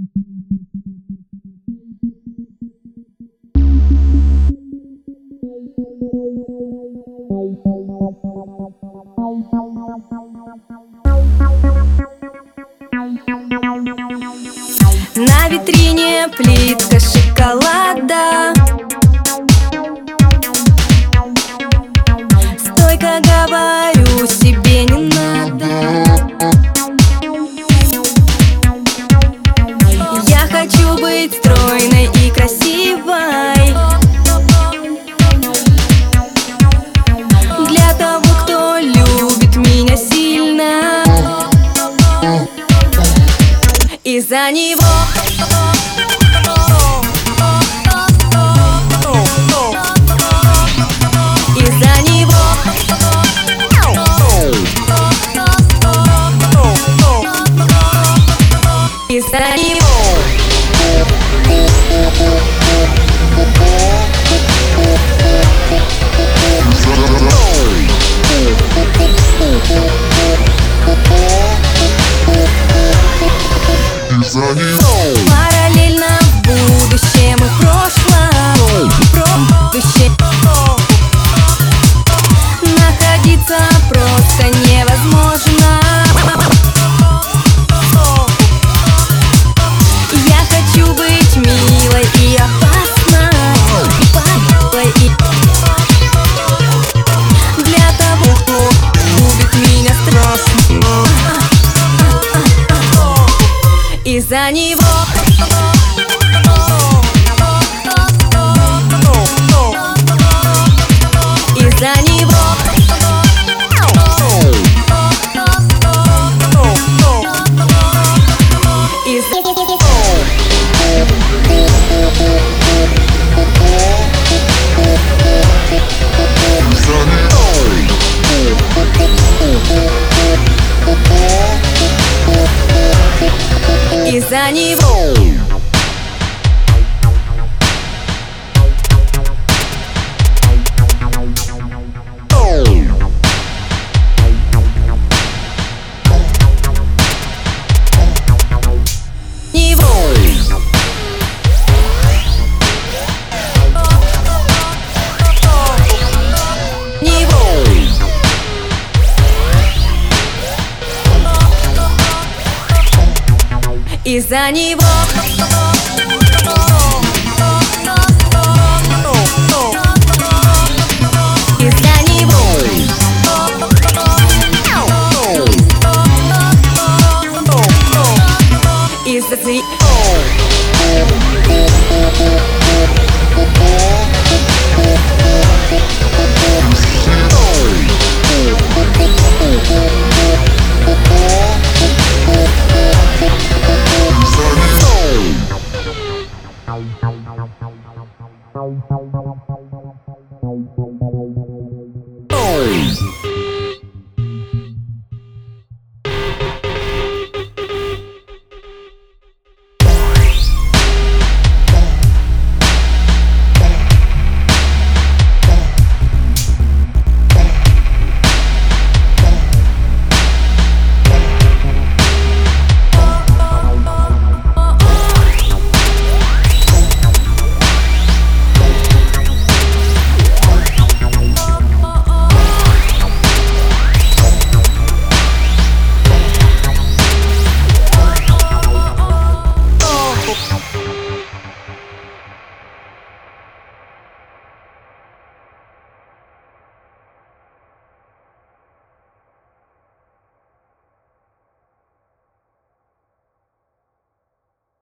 На витрине плитка шоколада, стойко говорю себе не надо. Я хочу быть стройной и красивой для того, кто любит меня сильно. Из-за него из-за него из-за него параллельно в будущем и прошлом, будущем находиться просто невозможно. Я хочу быть милой и опасной для того, кто любит меня страстно. Из-за него из-за него из-за него. Из-за него из-за него из-за него Out.